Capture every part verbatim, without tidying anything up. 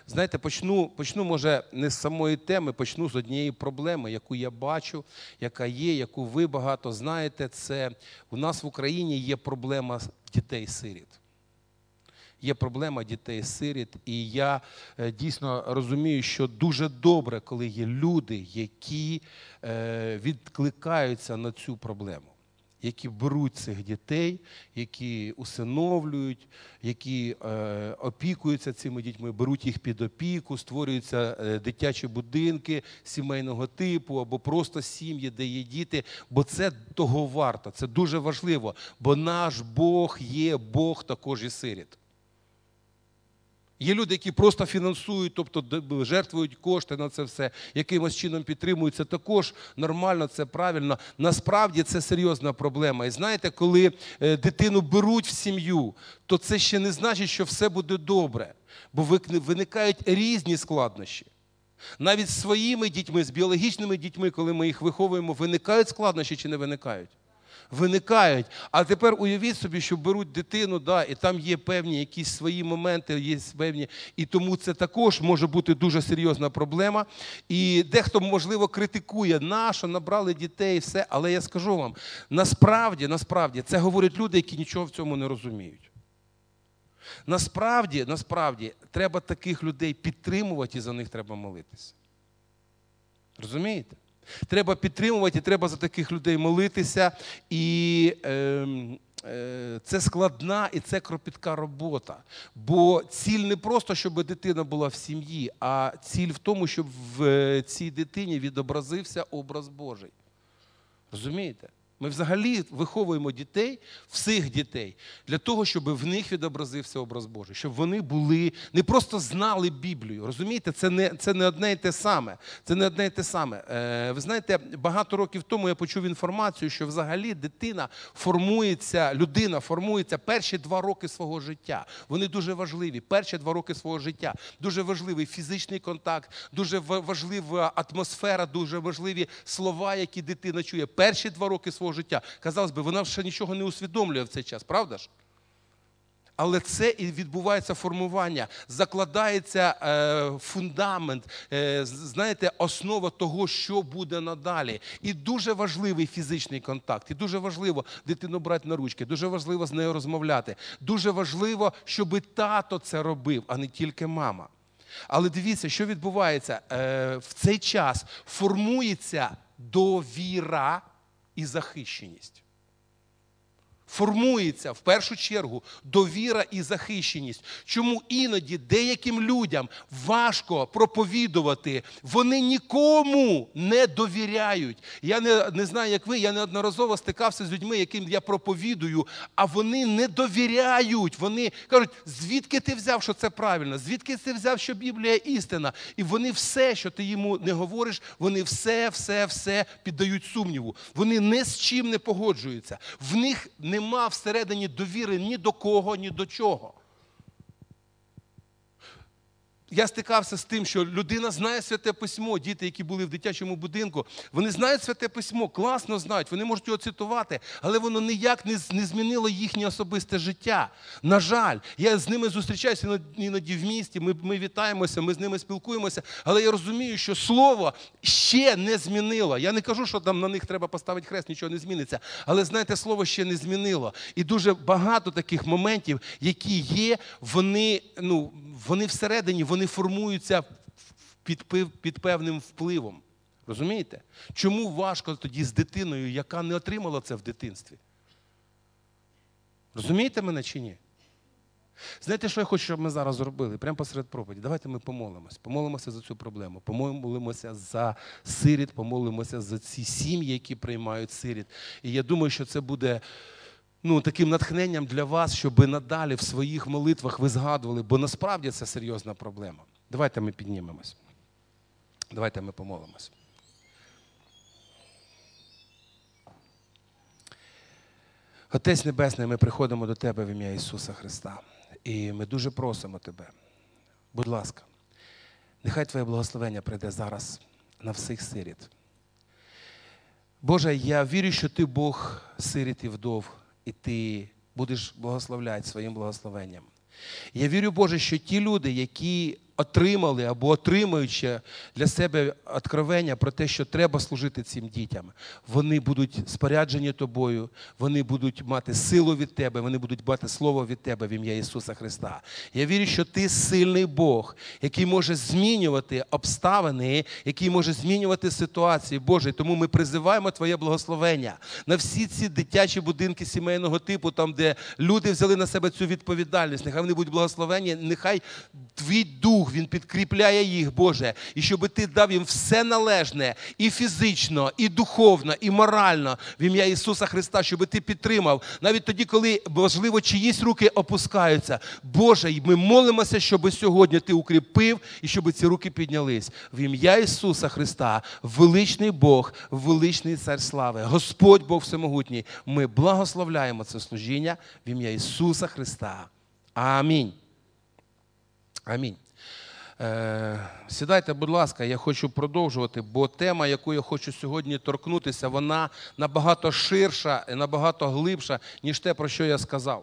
Знаєте, почну, почну, може, не з самої теми, почну з однієї проблеми, яку я бачу, яка є, яку ви багато знаєте. Це у нас в Україні є проблема дітей-сиріт. Є проблема дітей-сиріт, і я дійсно розумію, що дуже добре, коли є люди, які відкликаються на цю проблему, які беруть цих дітей, які усиновлюють, які е, опікуються цими дітьми, беруть їх під опіку, створюються е, дитячі будинки сімейного типу або просто сім'ї, де є діти, бо це того варто, це дуже важливо, бо наш Бог є Бог також і сиріт. Є люди, які просто фінансують, тобто жертвують кошти на це все, якимось чином підтримують. Це також нормально, це правильно. Насправді це серйозна проблема. І знаєте, коли дитину беруть в сім'ю, то це ще не значить, що все буде добре. Бо виникають різні складнощі. Навіть з своїми дітьми, з біологічними дітьми, коли ми їх виховуємо, виникають складнощі чи не виникають? Виникають. А тепер уявіть собі, що беруть дитину, да, і там є певні якісь свої моменти, є певні, і тому це також може бути дуже серйозна проблема. І дехто, можливо, критикує, на що набрали дітей, все, але я скажу вам, насправді, насправді, це говорять люди, які нічого в цьому не розуміють. Насправді, насправді, треба таких людей підтримувати і за них треба молитися. Розумієте? Треба підтримувати, і треба за таких людей молитися. І е, е, це складна і це кропітка робота. Бо ціль не просто, щоб дитина була в сім'ї, а ціль в тому, щоб в цій дитині відобразився образ Божий. Розумієте? Ми взагалі виховуємо дітей, всіх дітей, для того, щоб в них відобразився образ Божий, щоб вони були, не просто знали Біблію, розумієте? Це не, це не одне і те саме. Це не одне і те саме. Е, ви знаєте, багато років тому я почув інформацію, що взагалі дитина формується, людина формується перші два роки свого життя. Вони дуже важливі, перші два роки свого життя. Дуже важливий фізичний контакт, дуже важлива атмосфера, дуже важливі слова, які дитина чує. Перші два роки свого життя. Казалось би, вона ще нічого не усвідомлює в цей час, правда ж? Але це і відбувається формування, закладається е, фундамент, е, знаєте, основа того, що буде надалі. І дуже важливий фізичний контакт, і дуже важливо дитину брати на ручки, дуже важливо з нею розмовляти, дуже важливо, щоб тато це робив, а не тільки мама. Але дивіться, що відбувається. Е, в цей час формується довіра і захищеність. Формується, в першу чергу, довіра і захищеність. Чому іноді деяким людям важко проповідувати, вони нікому не довіряють. Я не, не знаю, як ви, я неодноразово стикався з людьми, яким я проповідую, а вони не довіряють. Вони кажуть, звідки ти взяв, що це правильно? Звідки ти взяв, що Біблія істина? І вони все, що ти йому не говориш, вони все, все, все піддають сумніву. Вони ні з чим не погоджуються. В них не Нема всередині довіри ні до кого, ні до чого. Я стикався з тим, що людина знає Святе Письмо, діти, які були в дитячому будинку, вони знають Святе Письмо, класно знають, вони можуть його цитувати, але воно ніяк не, не змінило їхнє особисте життя. На жаль, я з ними зустрічаюся іноді в місті, ми, ми вітаємося, ми з ними спілкуємося, але я розумію, що слово ще не змінило. Я не кажу, що там на них треба поставити хрест, нічого не зміниться, але, знаєте, слово ще не змінило. І дуже багато таких моментів, які є, вони, ну, вони всередині, вони Вони формуються під, під певним впливом. Розумієте? Чому важко тоді з дитиною, яка не отримала це в дитинстві? Розумієте мене чи ні? Знаєте, що я хочу, щоб ми зараз зробили? Прямо посеред проповіді. Давайте ми помолимось. Помолимося за цю проблему. Помолимося за сиріт, помолимося за ці сім'ї, які приймають сиріт. І я думаю, що це буде... Ну, таким натхненням для вас, щоб надалі в своїх молитвах ви згадували, бо насправді це серйозна проблема. Давайте ми піднімемось. Давайте ми помолимось. Отець Небесний, ми приходимо до Тебе в ім'я Ісуса Христа. І ми дуже просимо Тебе, будь ласка, нехай Твоє благословення прийде зараз на всіх сиріт. Боже, я вірю, що Ти Бог сиріт і вдов, і Ти будеш благословляти своїм благословенням. Я вірю, Боже, що ті люди, які отримали або отримують ще для себе откровення про те, що треба служити цим дітям. Вони будуть споряджені тобою, вони будуть мати силу від тебе, вони будуть мати слово від тебе в ім'я Ісуса Христа. Я вірю, що ти сильний Бог, який може змінювати обставини, який може змінювати ситуації. Боже, тому ми призиваємо Твоє благословення на всі ці дитячі будинки сімейного типу, там, де люди взяли на себе цю відповідальність. Нехай вони будуть благословені, нехай Твій Дух, Він підкріпляє їх, Боже, і щоб Ти дав їм все належне, і фізично, і духовно, і морально, в ім'я Ісуса Христа, щоб Ти підтримав. Навіть тоді, коли, можливо, чиїсь руки опускаються. Боже, ми молимося, щоб сьогодні Ти укріпив, і щоб ці руки піднялись. В ім'я Ісуса Христа, величний Бог, величний Цар слави, Господь Бог Всемогутній, ми благословляємо це служіння в ім'я Ісуса Христа. Амінь. Амінь. Е, сідайте, будь ласка, я хочу продовжувати, бо тема, яку я хочу сьогодні торкнутися, вона набагато ширша і набагато глибша, ніж те, про що я сказав.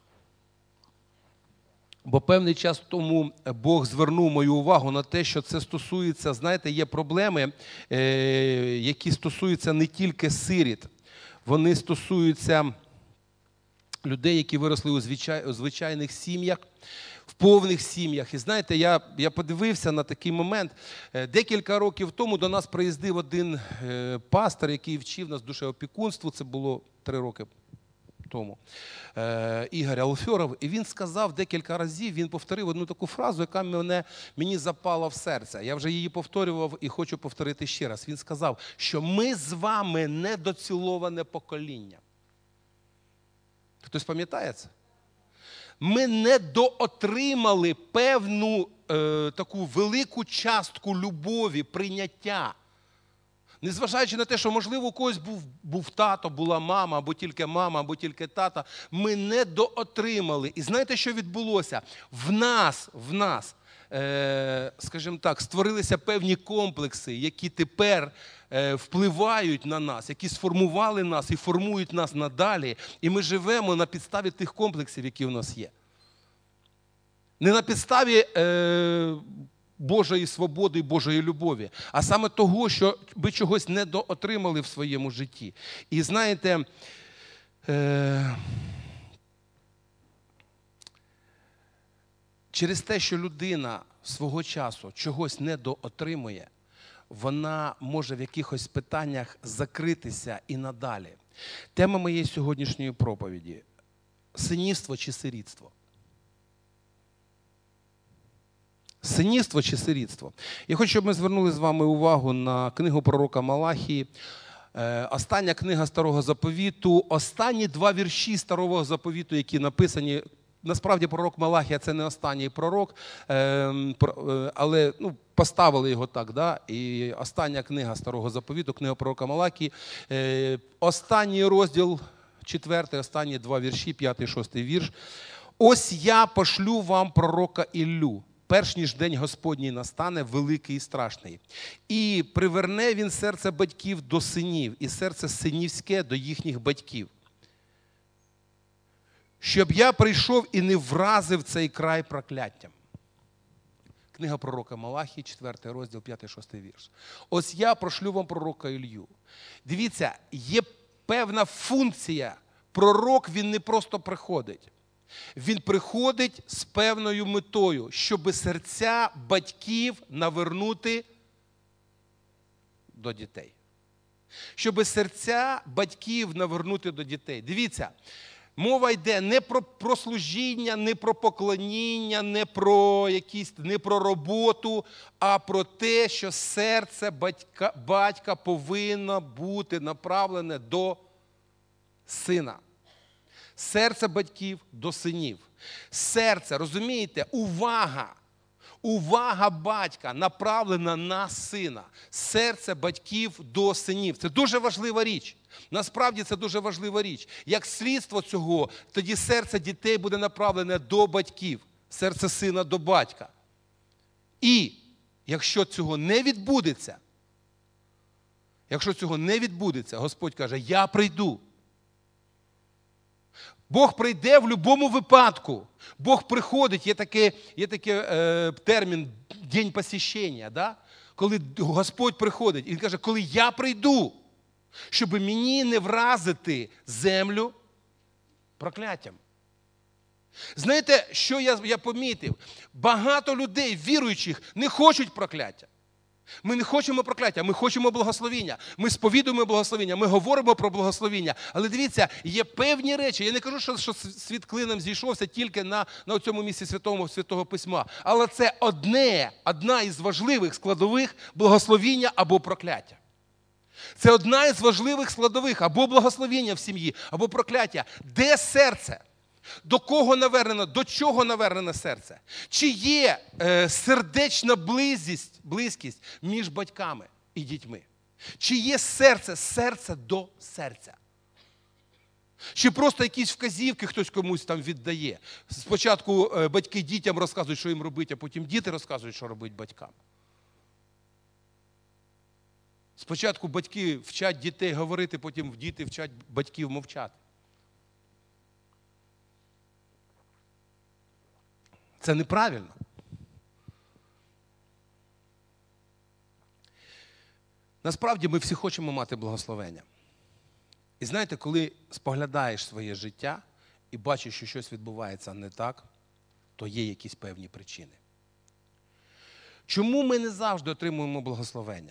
Бо певний час тому Бог звернув мою увагу на те, що це стосується, знаєте, є проблеми, е, які стосуються не тільки сиріт, вони стосуються людей, які виросли у, звичай, у звичайних сім'ях, в повних сім'ях. І знаєте, я, я подивився на такий момент. Декілька років тому до нас приїздив один е, пастор, який вчив нас душеопікунству, це було три роки тому, е, Ігор Алфьоров, і він сказав декілька разів, він повторив одну таку фразу, яка мене, мені запала в серце. Я вже її повторював і хочу повторити ще раз. Він сказав, що ми з вами недоціловане покоління. Хтось пам'ятає це? Ми недоотримали певну е, таку велику частку любові, прийняття. Незважаючи на те, що, можливо, у когось був, був тато, була мама, або тільки мама, або тільки тата, ми недоотримали. І знаєте, що відбулося? В нас, в нас, е, скажімо так, створилися певні комплекси, які тепер е, впливають на нас, які сформували нас і формують нас надалі. І ми живемо на підставі тих комплексів, які в нас є. Не на підставі е, Божої свободи і Божої любові, а саме того, що ви чогось недоотримали в своєму житті. І знаєте, е, через те, що людина свого часу чогось недоотримує, вона може в якихось питаннях закритися і надалі. Тема моєї сьогоднішньої проповіді – синівство чи сирітство. Синівство чи сирітство. Я хочу, щоб ми звернули з вами увагу на книгу пророка Малахії. Остання книга Старого Заповіту, останні два вірші Старого Заповіту, які написані. Насправді пророк Малахія – це не останній пророк, але ну, поставили його так. Да? І остання книга Старого Заповіту, книга пророка Малахії, останній розділ, четвертий, останні два вірші, п'ятий, шостий вірш. «Ось я пошлю вам пророка Іллю, перш ніж день Господній настане, великий і страшний. І приверне він серце батьків до синів, і серце синівське до їхніх батьків. Щоб я прийшов і не вразив цей край прокляттям». Книга пророка Малахії, четвертий розділ, п'ятий, шостий вірш. «Ось я прошлю вам пророка Іллю». Дивіться, є певна функція. Пророк, він не просто приходить. Він приходить з певною метою, щоб серця батьків навернути до дітей. Щоб серця батьків навернути до дітей. Дивіться, мова йде не про, про служіння, не про поклоніння, не про якісь, не про роботу, а про те, що серце батька, батька повинно бути направлене до сина. Серце батьків до синів. Серце, розумієте, увага, увага батька направлена на сина. Серце батьків до синів. Це дуже важлива річ. Насправді це дуже важлива річ. Як слідство цього, тоді серце дітей буде направлене до батьків. Серце сина до батька. І якщо цього не відбудеться, якщо цього не відбудеться, Господь каже, я прийду. Бог прийде в будь-якому випадку. Бог приходить, є такий є таке, е, термін «день посвящення», да? Коли Господь приходить. І Він каже, коли я прийду, щоб мені не вразити землю прокляттям. Знаєте, що я, я помітив? Багато людей, віруючих, не хочуть прокляття. Ми не хочемо прокляття, ми хочемо благословіння. Ми сповідуємо благословіння, ми говоримо про благословіння. Але дивіться, є певні речі. Я не кажу, що, що світ клином зійшовся тільки на, на цьому місці Святого, Святого Письма. Але це одне, одна із важливих складових благословіння або прокляття. Це одна із важливих складових або благословіння в сім'ї, або прокляття. Де серце? До кого навернено, до чого навернене серце? Чи є е, сердечна близькість, близькість між батьками і дітьми? Чи є серце, серце до серця? Чи просто якісь вказівки хтось комусь там віддає? Спочатку е, батьки дітям розказують, що їм робити, а потім діти розказують, що робити батькам. Спочатку батьки вчать дітей говорити, потім діти вчать батьків мовчати. Це неправильно. Насправді ми всі хочемо мати благословення. І знаєте, коли споглядаєш своє життя і бачиш, що щось відбувається не так, то є якісь певні причини. Чому ми не завжди отримуємо благословення?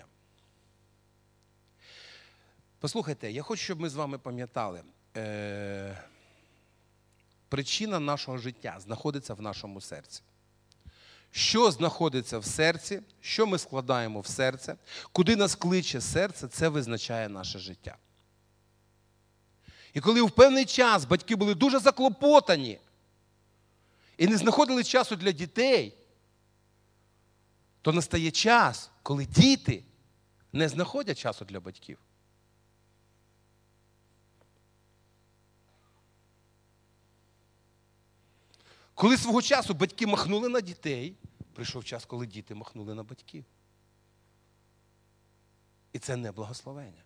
Послухайте, я хочу, щоб ми з вами пам'ятали, е- причина нашого життя знаходиться в нашому серці. Що знаходиться в серці, що ми складаємо в серце, куди нас кличе серце, це визначає наше життя. І коли в певний час батьки були дуже заклопотані і не знаходили часу для дітей, то настає час, коли діти не знаходять часу для батьків. Коли свого часу батьки махнули на дітей, прийшов час, коли діти махнули на батьків. І це не благословення.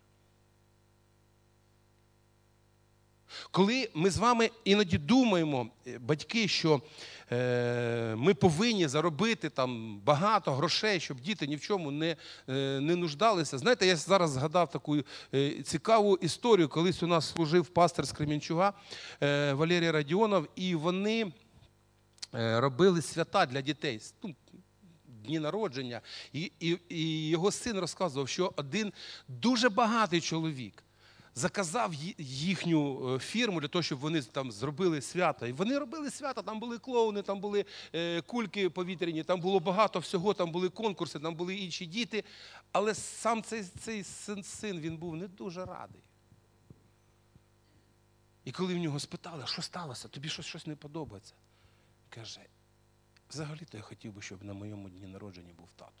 Коли ми з вами іноді думаємо, батьки, що е, ми повинні заробити там багато грошей, щоб діти ні в чому не, е, не нуждалися. Знаєте, я зараз згадав таку е, цікаву історію. Колись у нас служив пастор з Кременчуга е, Валерій Радіонов, і вони робили свята для дітей, ну, дні народження. І, і, і його син розказував, що один дуже багатий чоловік заказав їхню фірму для того, щоб вони там зробили свято. І вони робили свято, там були клоуни, там були е, кульки повітряні, там було багато всього, там були конкурси, там були інші діти. Але сам цей, цей син, син, він був не дуже радий. І коли в нього спитали, що сталося, тобі щось, щось не подобається? Каже, взагалі-то я хотів би, щоб на моєму дні народження був тато.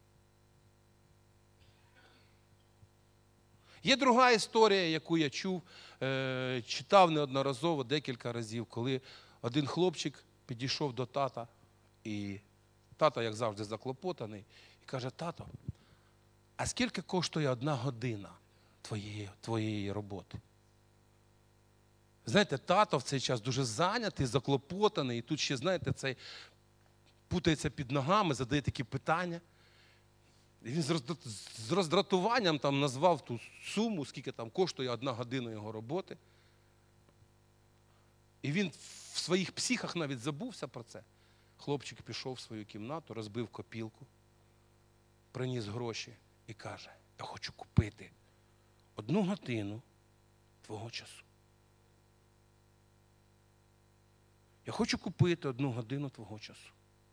Є друга історія, яку я чув, е, читав неодноразово, декілька разів, коли один хлопчик підійшов до тата, і тато, як завжди, заклопотаний, і каже, тато, а скільки коштує одна година твоєї, твоєї роботи? Знаєте, тато в цей час дуже зайнятий, заклопотаний, і тут ще, знаєте, цей путається під ногами, задає такі питання. І він з роздратуванням там назвав ту суму, скільки там коштує одна година його роботи. І він в своїх психах навіть забувся про це. Хлопчик пішов в свою кімнату, розбив копілку, приніс гроші і каже, я хочу купити одну годину твого часу. Я хочу купити одну годину твого часу.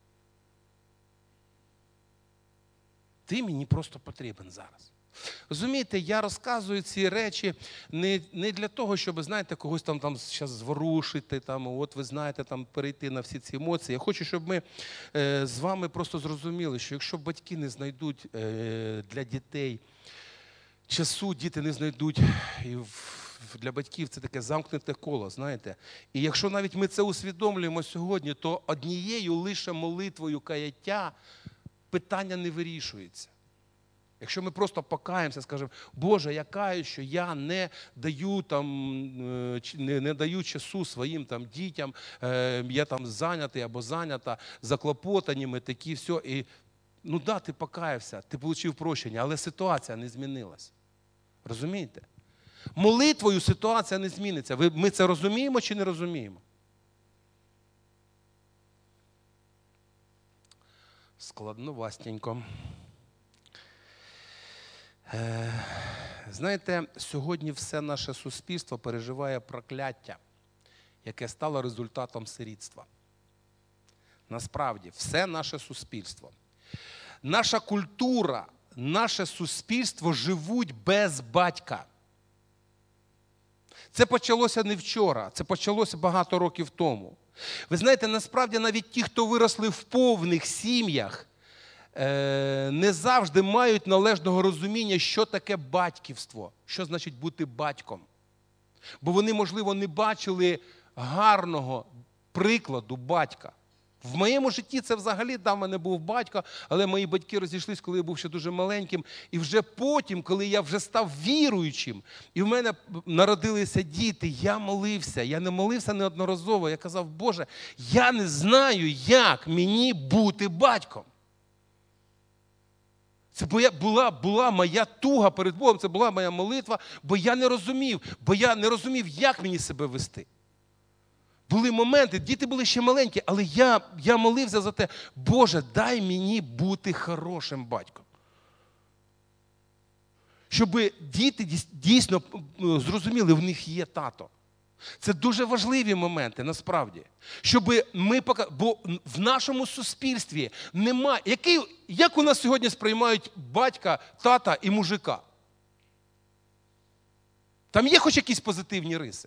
Ти мені просто потрібен зараз. Розумієте, я розказую ці речі не, не для того, щоб, знаєте, когось там, там зараз зворушити, там, от ви знаєте, там, перейти на всі ці емоції. Я хочу, щоб ми е, з вами просто зрозуміли, що якщо батьки не знайдуть е, для дітей часу, діти не знайдуть і в для батьків це таке замкнуте коло, знаєте. І якщо навіть ми це усвідомлюємо сьогодні, то однією лише молитвою каяття питання не вирішується. Якщо ми просто покаємося, скажемо, Боже, я каюсь, що я не даю, там, не, не даю часу своїм там, дітям, е, я там зайнятий або зайнята, заклопотані, такі, все. І, ну да, ти покаявся, ти отримав прощення, але ситуація не змінилась. Розумієте? Молитвою ситуація не зміниться. Ви, ми це розуміємо чи не розуміємо? Складновастенько. Е, знаєте, сьогодні все наше суспільство переживає прокляття, яке стало результатом сирітства. Насправді, все наше суспільство. Наша культура, наше суспільство живуть без батька. Це почалося не вчора, це почалося багато років тому. Ви знаєте, насправді навіть ті, хто виросли в повних сім'ях, не завжди мають належного розуміння, що таке батьківство, що значить бути батьком. Бо вони, можливо, не бачили гарного прикладу батька. В моєму житті це взагалі, да, в мене був батько, але мої батьки розійшлись, коли я був ще дуже маленьким. І вже потім, коли я вже став віруючим, і в мене народилися діти, я молився. Я не молився неодноразово. Я казав, Боже, я не знаю, як мені бути батьком. Це була, була моя туга перед Богом, це була моя молитва, бо я не розумів, бо я не розумів, як мені себе вести. Були моменти, діти були ще маленькі, але я, я молився за те, Боже, дай мені бути хорошим батьком. Щоб діти дійсно зрозуміли, в них є тато. Це дуже важливі моменти, насправді. Щоб ми пока... Бо в нашому суспільстві немає... Який... Як у нас сьогодні сприймають батька, тата і мужика? Там є хоч якісь позитивні риси?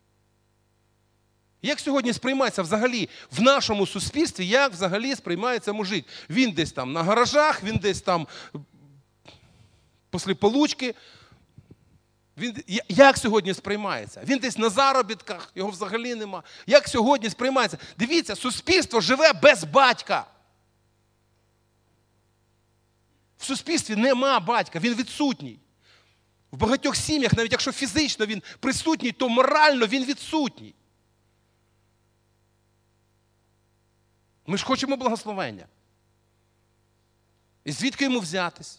Як сьогодні сприймається взагалі в нашому суспільстві, як взагалі сприймається мужик? Він десь там на гаражах, він десь там після получки. Він, як сьогодні сприймається? Він десь на заробітках, його взагалі нема. Як сьогодні сприймається? Дивіться, суспільство живе без батька. В суспільстві нема батька, він відсутній. В багатьох сім'ях, навіть якщо фізично він присутній, то морально він відсутній. Ми ж хочемо благословення. І звідки йому взятись?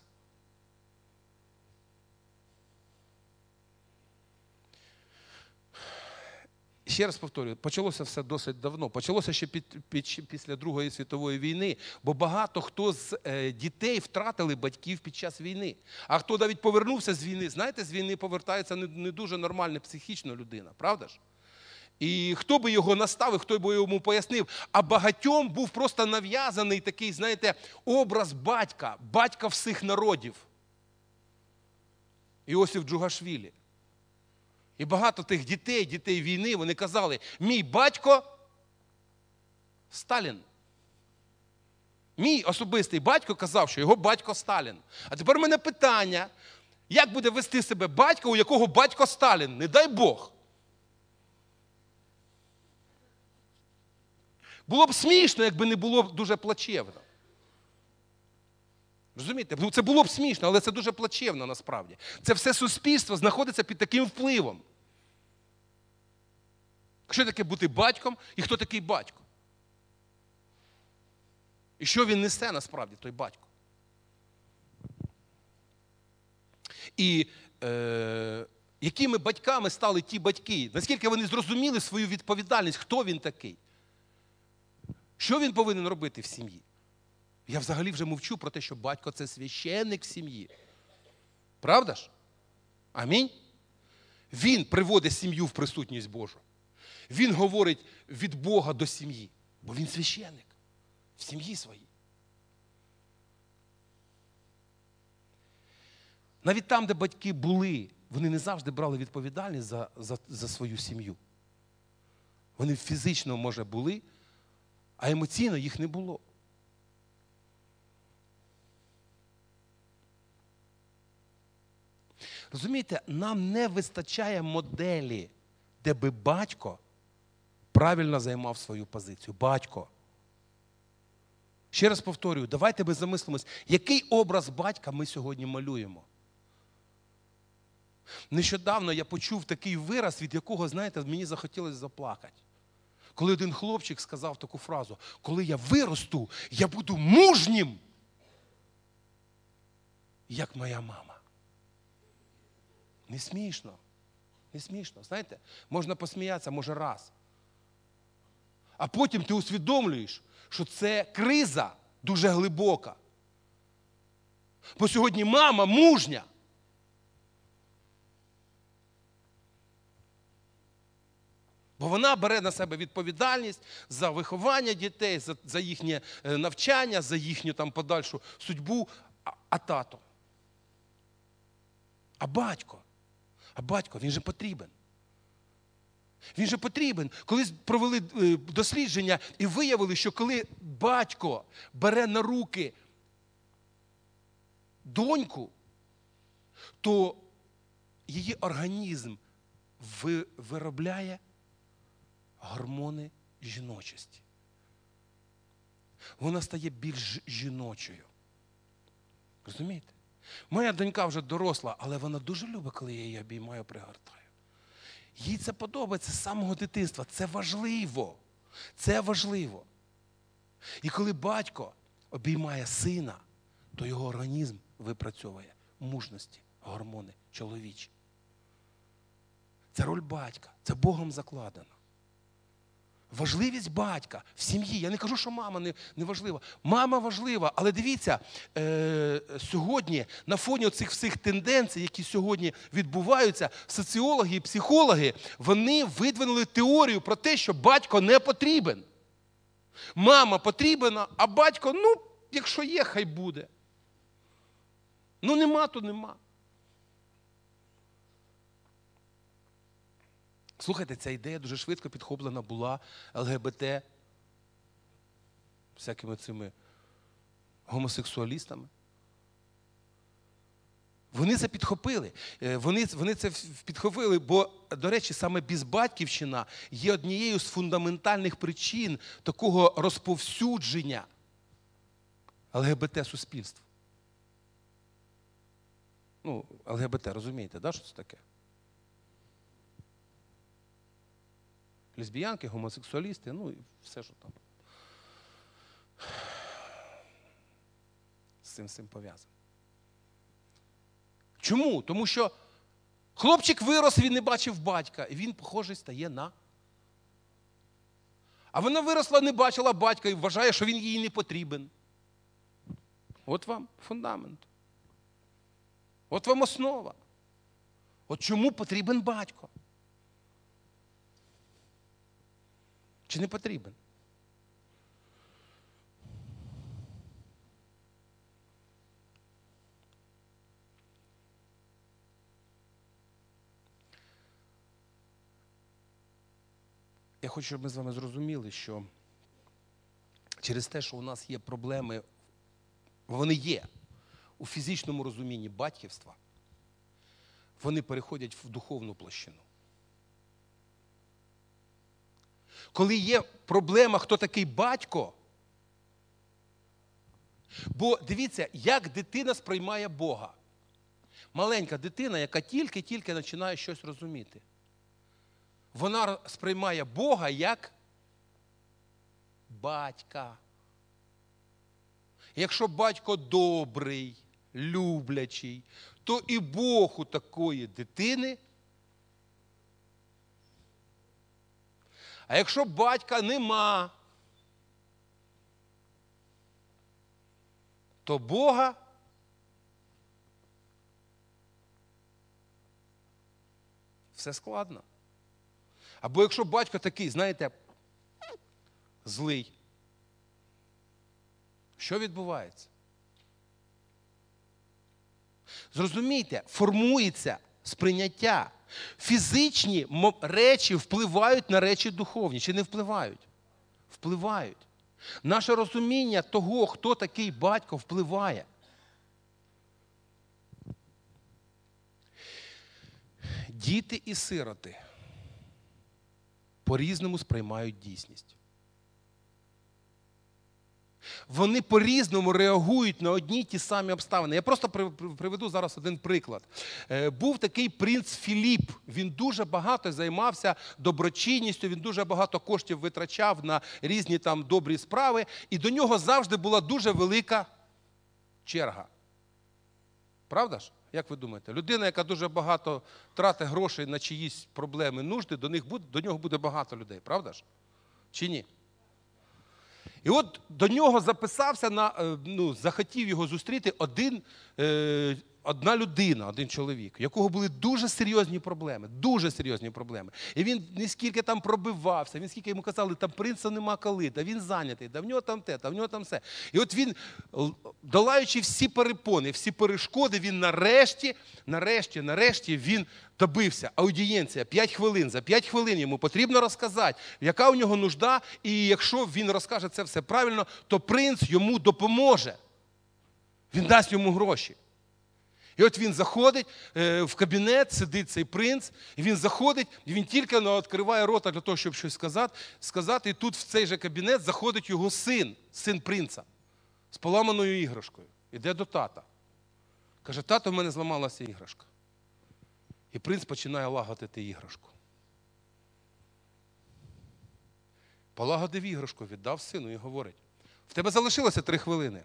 Ще раз повторюю, почалося все досить давно. Почалося ще під, під, після Другої світової війни, бо багато хто з е, дітей втратили батьків під час війни. А хто навіть повернувся з війни, знаєте, з війни повертається не, не дуже нормальна психічна людина, правда ж? І хто би його наставив, хто би йому пояснив. А багатьом був просто нав'язаний такий, знаєте, образ батька, батька всіх народів. Іосиф Джугашвілі. І багато тих дітей, дітей війни, вони казали, мій батько Сталін. Мій особистий батько казав, що його батько Сталін. А тепер у мене питання, як буде вести себе батько, у якого батько Сталін? Не дай Бог. Було б смішно, якби не було б дуже плачевно. Розумієте? Це було б смішно, але це дуже плачевно насправді. Це все суспільство знаходиться під таким впливом. Що таке бути батьком і хто такий батько? І що він несе насправді, той батько? І е, якими батьками стали ті батьки? Наскільки вони зрозуміли свою відповідальність, хто він такий? Що він повинен робити в сім'ї? Я взагалі вже мовчу про те, що батько – це священник в сім'ї. Правда ж? Амінь? Він приводить сім'ю в присутність Божу. Він говорить від Бога до сім'ї, бо він священник в сім'ї своїй. Навіть там, де батьки були, вони не завжди брали відповідальність за, за, за свою сім'ю. Вони фізично, може, були, а емоційно їх не було. Розумієте, нам не вистачає моделі, де би батько правильно займав свою позицію. Батько. Ще раз повторюю, давайте ми замислимось, який образ батька ми сьогодні малюємо. Нещодавно я почув такий вираз, від якого, знаєте, мені захотілося заплакати. Коли один хлопчик сказав таку фразу: коли я виросту, я буду мужнім, як моя мама. Не смішно. Не смішно. Знаєте, можна посміятися, може, раз. А потім ти усвідомлюєш, що це криза дуже глибока. Бо сьогодні мама мужня. Бо вона бере на себе відповідальність за виховання дітей, за, за їхнє навчання, за їхню там подальшу судьбу. А, а тато? А батько? А батько, він же потрібен. Він же потрібен. Колись провели дослідження і виявили, що коли батько бере на руки доньку, то її організм виробляє гормони жіночості. Вона стає більш жіночою. Розумієте? Моя донька вже доросла, але вона дуже любить, коли я її обіймаю, пригортаю. Їй це подобається з самого дитинства. Це важливо. Це важливо. І коли батько обіймає сина, то його організм випрацьовує мужності, гормони чоловічі. Це роль батька. Це Богом закладено. Важливість батька в сім'ї. Я не кажу, що мама не, не важлива. Мама важлива, але дивіться, е, сьогодні на фоні цих всіх тенденцій, які сьогодні відбуваються, соціологи і психологи, вони видвинули теорію про те, що батько не потрібен. Мама потрібна, а батько, ну, якщо є, хай буде. Ну, нема, то нема. Слухайте, ця ідея дуже швидко підхоплена була ЛГБТ, всякими цими гомосексуалістами. Вони це підхопили. Вони, вони це підхопили, бо, до речі, саме безбатьківщина є однією з фундаментальних причин такого розповсюдження ЛГБТ-суспільства. Ну, ЛГБТ, розумієте, да, що це таке? Лесбіянки, гомосексуалісти, ну і все, що там з цим, з цим пов'язано. Чому? Тому що хлопчик вирос, він не бачив батька, і він, похожий, стає на... А вона виросла, не бачила батька і вважає, що він їй не потрібен. От вам фундамент. От вам основа. От чому потрібен батько? Чи не потрібен? Я хочу, щоб ми з вами зрозуміли, що через те, що у нас є проблеми, вони є у фізичному розумінні батьківства, вони переходять в духовну площину. Коли є проблема, хто такий батько, бо дивіться, як дитина сприймає Бога. Маленька дитина, яка тільки-тільки починає щось розуміти. Вона сприймає Бога як батька. Якщо батько добрий, люблячий, то і Бог у такої дитини. А якщо батька нема, то Бога все складно. Або якщо батько такий, знаєте, злий, що відбувається? Зрозумійте, формується сприйняття. Фізичні речі впливають на речі духовні. Чи не впливають? Впливають. Наше розуміння того, хто такий батько, впливає. Діти і сироти по-різному сприймають дійсність. Вони по-різному реагують на одні й ті самі обставини. Я просто приведу зараз один приклад. Був такий принц Філіп. Він дуже багато займався доброчинністю, він дуже багато коштів витрачав на різні там добрі справи. І до нього завжди була дуже велика черга. Правда ж? Як ви думаєте? Людина, яка дуже багато тратить грошей на чиїсь проблеми, нужди, до, них буде, до нього буде багато людей. Правда ж? Чи ні? І от до нього записався, на, ну, захотів його зустріти один, е, одна людина, один чоловік, у якого були дуже серйозні проблеми, дуже серйозні проблеми. І він не скільки там пробивався, він скільки йому казали, там принца нема коли, та він зайнятий, та в нього там те, та в нього там все. І от він, долаючи всі перепони, всі перешкоди, він нарешті, нарешті, нарешті він добився. Аудієнція, п'ять хвилин. За п'ять хвилин йому потрібно розказати, яка у нього нужда, і якщо він розкаже це все правильно, то принц йому допоможе. Він дасть йому гроші. І от він заходить в кабінет, сидить цей принц, і він заходить, і він тільки відкриває рота для того, щоб щось сказати, сказати, і тут в цей же кабінет заходить його син, син принца, з поламаною іграшкою. Іде до тата. Каже, тато, в мене зламалася іграшка. І принц починає лагодити іграшку. Полагодив іграшку, віддав сину і говорить, в тебе залишилося три хвилини.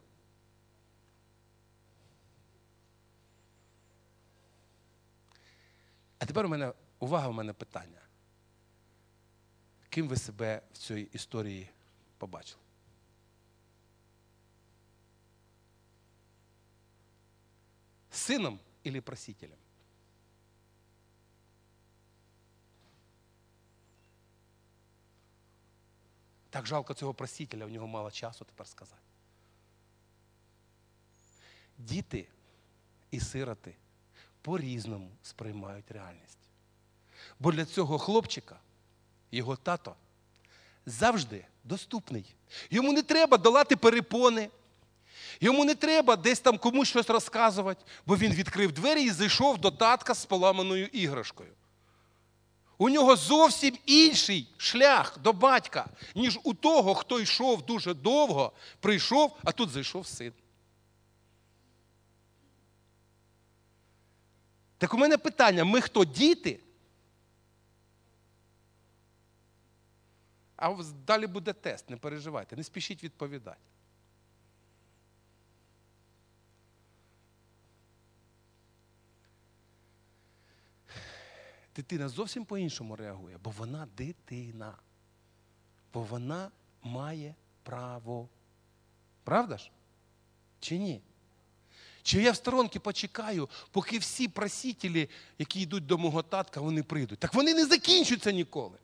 А тепер у мене, увага, у мене питання. Ким ви себе в цій історії побачили? Сином або просителем? Так жалко цього просителя, в нього мало часу тепер сказати. Діти і сироти по-різному сприймають реальність. Бо для цього хлопчика його тато завжди доступний. Йому не треба долати перепони, йому не треба десь там комусь щось розказувати, бо він відкрив двері і зайшов до татка з поламаною іграшкою. У нього зовсім інший шлях до батька, ніж у того, хто йшов дуже довго, прийшов, а тут зайшов син. Так у мене питання, ми хто, діти? А далі буде тест, не переживайте, не спішіть відповідати. Дитина зовсім по-іншому реагує, бо вона дитина. Бо вона має право. Правда ж? Чи ні? Чи я в сторонці почекаю, поки всі просителі, які йдуть до мого татка, вони прийдуть. Так вони не закінчуються ніколи.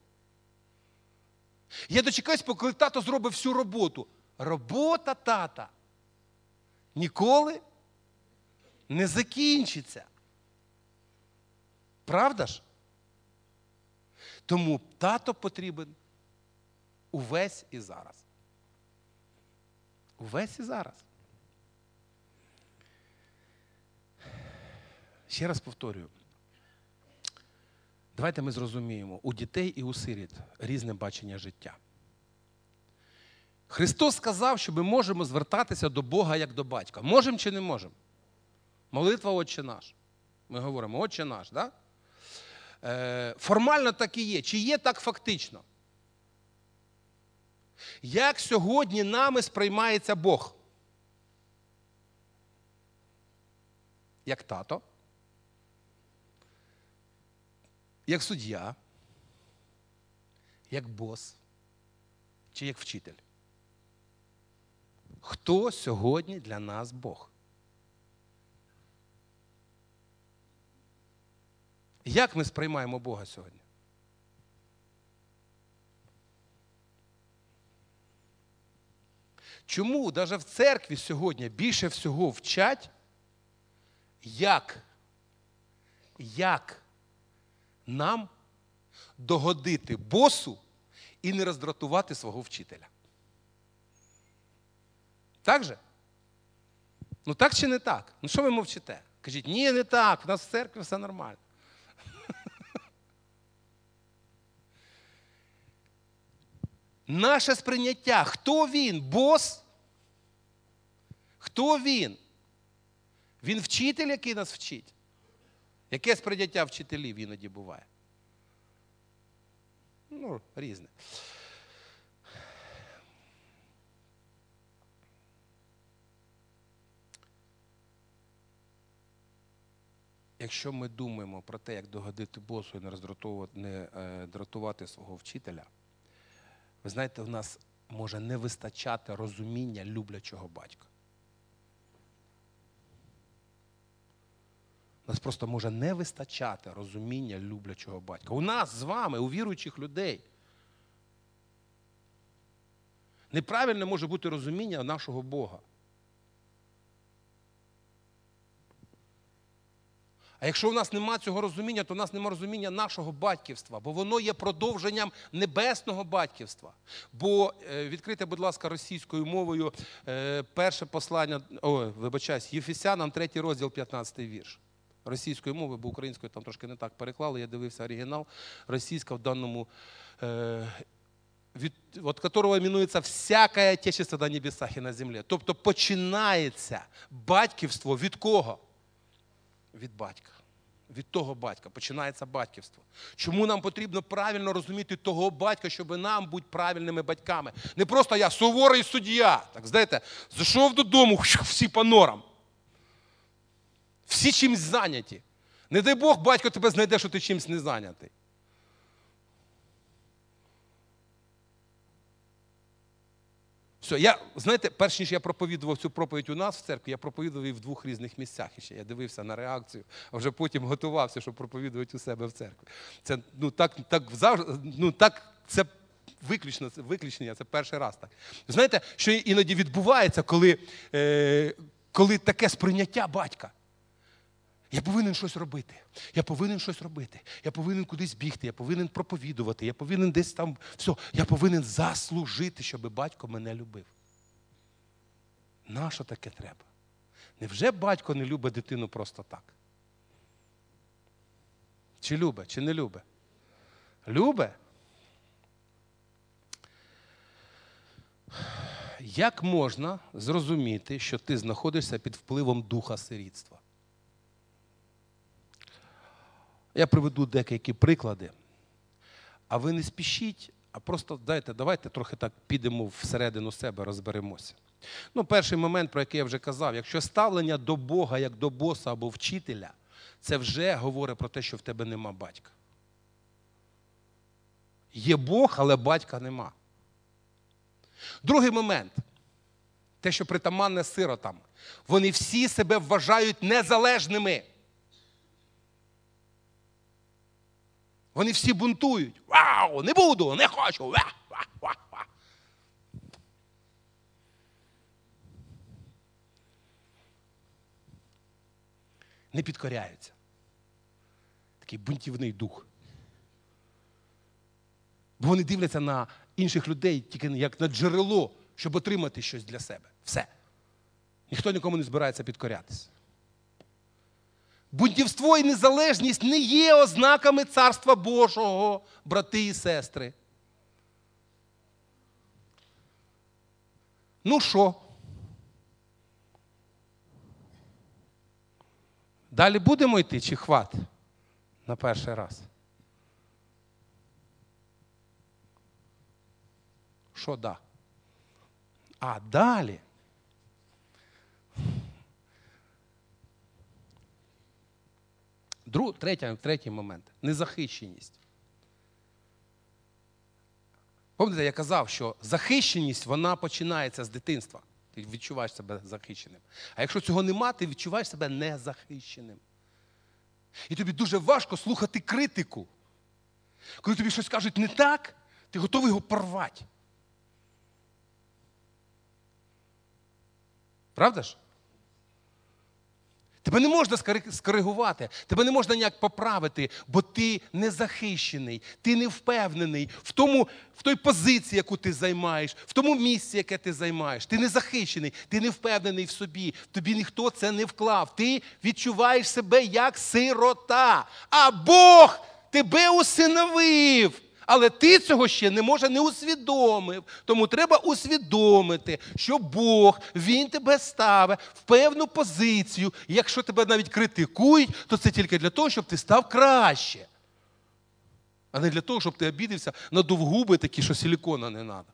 Я дочекаюсь, поки тато зробить всю роботу. Робота тата ніколи не закінчиться. Правда ж? Тому тато потрібен увесь і зараз. Увесь і зараз. Ще раз повторюю. Давайте ми зрозуміємо, у дітей і у сиріт різне бачення життя. Христос сказав, що ми можемо звертатися до Бога як до батька. Можемо чи не можемо? Молитва «Отче наш». Ми говоримо «Отче наш», так? Е, формально так і є. Чи є так фактично? Як сьогодні нами сприймається Бог? Як тато? Як суддя? Як бос? Чи як вчитель? Хто сьогодні для нас Бог? Як ми сприймаємо Бога сьогодні? Чому навіть в церкві сьогодні більше всього вчать, як, як нам догодити босу і не роздратувати свого вчителя? Так же? Ну так чи не так? Ну що ви мовчите? Кажіть, ні, не так, в нас в церкві все нормально. Наше сприйняття, хто він, бос Хто він? Він вчитель, який нас вчить? Яке сприйняття вчителів іноді буває? Ну, різне. Якщо ми думаємо про те, як догодити босу і не роздратувати, не е, дратувати свого вчителя, ви знаєте, в нас може не вистачати розуміння люблячого батька. У нас просто може не вистачати розуміння люблячого батька. У нас з вами, у віруючих людей, неправильне може бути розуміння нашого Бога. А якщо у нас немає цього розуміння, то у нас немає розуміння нашого батьківства, бо воно є продовженням небесного батьківства. Бо, відкрийте, будь ласка, російською мовою перше послання, ой, вибачаюсь, Єфесянам, третій розділ, п'ятнадцятий вірш. Російською мовою, бо українською там трошки не так переклали, я дивився оригінал, російська в даному, е, від, от которого іменується «всякое отечество на небесах і на землі». Тобто починається батьківство від кого? Від батька. Від того батька. Починається батьківство. Чому нам потрібно правильно розуміти того батька, щоб нам бути правильними батьками? Не просто я суворий суддя. Так, знаєте, зайшов додому, всі по норам. Всі чимось зайняті. Не дай Бог, батько тебе знайде, що ти чимось не зайнятий. Все, я, знаєте, перш ніж я проповідував цю проповідь у нас в церкві, я проповідував її в двох різних місцях ще. Я дивився на реакцію, а вже потім готувався, щоб проповідувати у себе в церкві. Це, ну, так, так, завжди, ну, так, це виключно, це виключення, це перший раз так. Знаєте, що іноді відбувається, коли, е, коли таке сприйняття батька. Я повинен щось робити, я повинен щось робити, я повинен кудись бігти, я повинен проповідувати, я повинен десь там, все, я повинен заслужити, щоб батько мене любив. Нащо таке треба? Невже батько не любить дитину просто так? Чи любить, чи не любить? Любить? Як можна зрозуміти, що ти знаходишся під впливом духа сирітства? Я приведу деякі приклади. А ви не спішіть, а просто дайте, давайте трохи так підемо всередину себе, розберемося. Ну, перший момент, про який я вже казав, якщо ставлення до Бога, як до боса або вчителя, це вже говорить про те, що в тебе нема батька. Є Бог, але батька нема. Другий момент, те, що притаманне сиротам. Вони всі себе вважають незалежними. Вони всі бунтують. Вау, не буду, не хочу. Ва, ва, ва, ва. Не підкоряються. Такий бунтівний дух. Бо вони дивляться на інших людей тільки як на джерело, щоб отримати щось для себе. Все. Ніхто нікому не збирається підкорятися. Бунтівство і незалежність не є ознаками Царства Божого, брати і сестри. Ну що? Далі будемо йти чи хват на перший раз? Що да? А далі? Друг, третій, третій момент. Незахищеність. Пам'ятаєте, я казав, що захищеність, вона починається з дитинства. Ти відчуваєш себе захищеним. А якщо цього нема, ти відчуваєш себе незахищеним. І тобі дуже важко слухати критику. Коли тобі щось кажуть не так, ти готовий його порвати. Правда ж? Тебе не можна скоригувати, тебе не можна ніяк поправити, бо ти не захищений, ти не впевнений в, тому, в той позиції, яку ти займаєш, в тому місці, яке ти займаєш. Ти не захищений, ти не впевнений в собі, тобі ніхто це не вклав. Ти відчуваєш себе як сирота, а Бог тебе усиновив. Але ти цього ще не може не усвідомив. Тому треба усвідомити, що Бог, Він тебе ставить в певну позицію. І якщо тебе навіть критикують, то це тільки для того, щоб ти став краще. А не для того, щоб ти обідався, надув губи такі, що силікона не треба.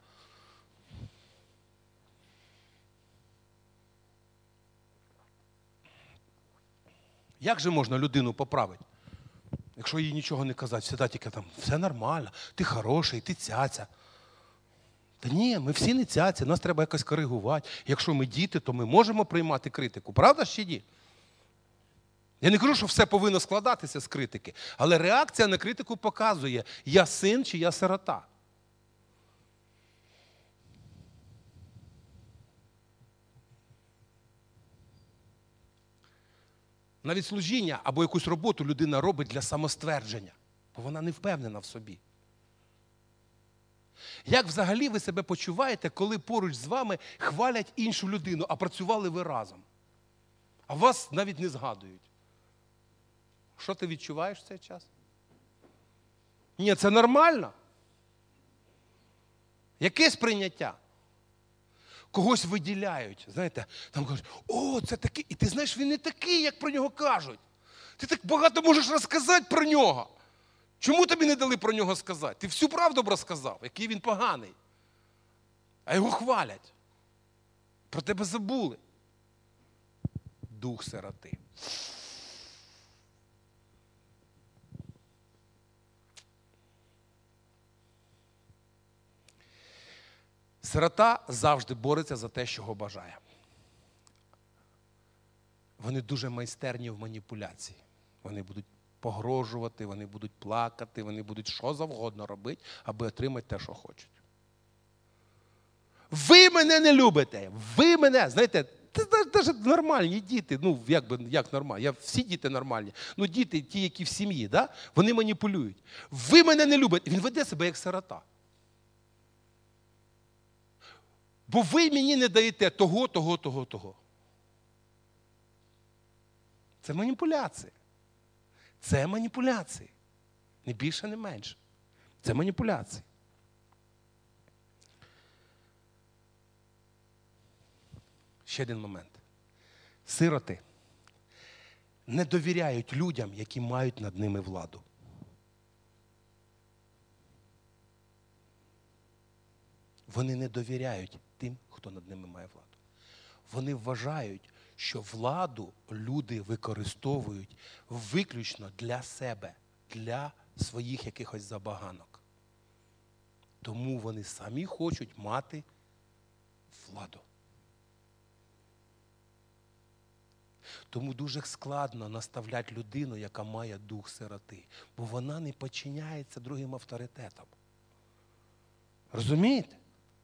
Як же можна людину поправити? Якщо їй нічого не казати, всегда тільки там, все нормально, ти хороший, ти цяця. Та ні, ми всі не цяця, нас треба якось коригувати. Якщо ми діти, то ми можемо приймати критику. Правда чи ні? Я не кажу, що все повинно складатися з критики, але реакція на критику показує, я син чи я сирота. Навіть служіння або якусь роботу людина робить для самоствердження, бо вона не впевнена в собі. Як взагалі ви себе почуваєте, коли поруч з вами хвалять іншу людину, а працювали ви разом? А вас навіть не згадують. Що ти відчуваєш в цей час? Ні, це нормально. Яке сприйняття? Когось виділяють, знаєте, там кажуть, о, це такий, і ти знаєш, він не такий, як про нього кажуть. Ти так багато можеш розказати про нього. Чому тобі не дали про нього сказати? Ти всю правду б розказав, який він поганий. А його хвалять. Про тебе забули. Дух сироти. Сирота завжди бореться за те, чого бажає. Вони дуже майстерні в маніпуляції. Вони будуть погрожувати, вони будуть плакати, вони будуть що завгодно робити, аби отримати те, що хочуть. Ви мене не любите, ви мене, знаєте, навіть нормальні діти, ну як би, як нормальні, я, всі діти нормальні, ну діти, ті, які в сім'ї, да? Вони маніпулюють. Ви мене не любите, він веде себе як сирота. Бо ви мені не даєте того, того, того, того. Це маніпуляції. Це маніпуляції. Не більше, не менше. Це маніпуляції. Ще один момент. Сироти не довіряють людям, які мають над ними владу. Вони не довіряють тим, хто над ними має владу. Вони вважають, що владу люди використовують виключно для себе, для своїх якихось забаганок. Тому вони самі хочуть мати владу. Тому дуже складно наставляти людину, яка має дух сироти, бо вона не підчиняється другим авторитетам. Розумієте?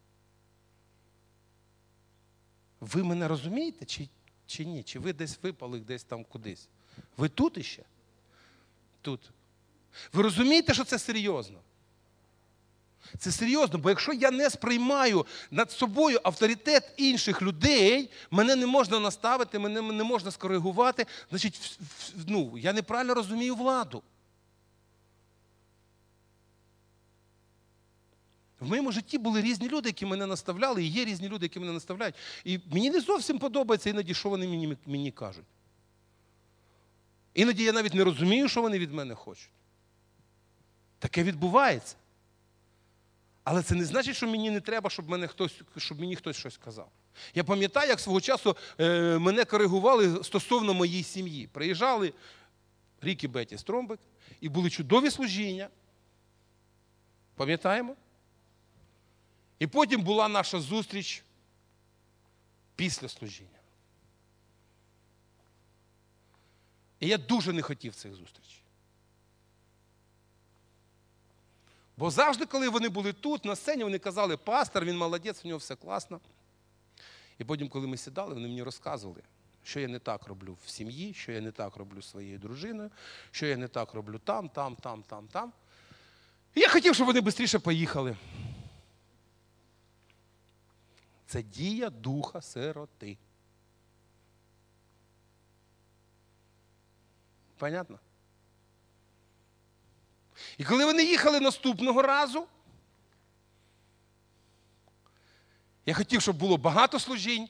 Ви мене розумієте чи, чи ні? Чи ви десь випали, десь там кудись? Ви тут іще? Тут. Ви розумієте, що це серйозно? Це серйозно, бо якщо я не сприймаю над собою авторитет інших людей, мене не можна наставити, мене не можна скоригувати, значить, ну, я неправильно розумію владу. В моєму житті були різні люди, які мене наставляли, і є різні люди, які мене наставляють. І мені не зовсім подобається іноді, що вони мені, мені кажуть. Іноді я навіть не розумію, що вони від мене хочуть. Таке відбувається. Але це не значить, що мені не треба, щоб, мене хтось, щоб мені хтось щось казав. Я пам'ятаю, як свого часу е, мене коригували стосовно моєї сім'ї. Приїжджали Рік і Бетті Стромбек, і були чудові служіння. Пам'ятаємо? І потім була наша зустріч після служіння. І я дуже не хотів цих зустрічей. Бо завжди, коли вони були тут, на сцені, вони казали, пастор, він молодець, у нього все класно. І потім, коли ми сідали, вони мені розказували, що я не так роблю в сім'ї, що я не так роблю зі своєю дружиною, що я не так роблю там, там, там, там, там. І я хотів, щоб вони швидше поїхали. Це дія духа сироти. Понятно? І коли вони їхали наступного разу, я хотів, щоб було багато служінь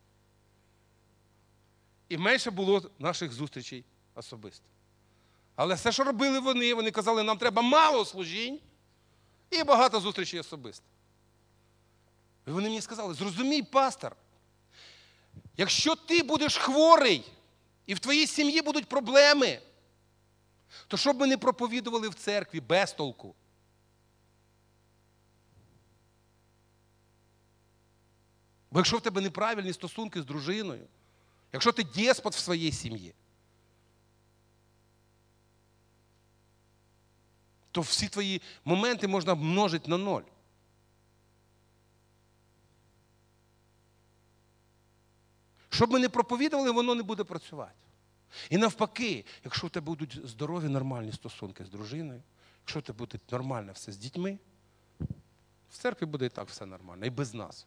і менше було наших зустрічей особисто. Але все, що робили вони, вони казали, нам треба мало служінь і багато зустрічей особисто. І вони мені сказали, зрозумій, пастор, якщо ти будеш хворий і в твоїй сім'ї будуть проблеми, то щоб ми не проповідували в церкві без толку. Бо якщо в тебе неправильні стосунки з дружиною, якщо ти деспот в своїй сім'ї, то всі твої моменти можна множити на ноль. Щоб ми не проповідували, воно не буде працювати. І навпаки, якщо в тебе будуть здорові, нормальні стосунки з дружиною, якщо в тебе буде нормально все з дітьми, в церкві буде і так все нормально, і без нас.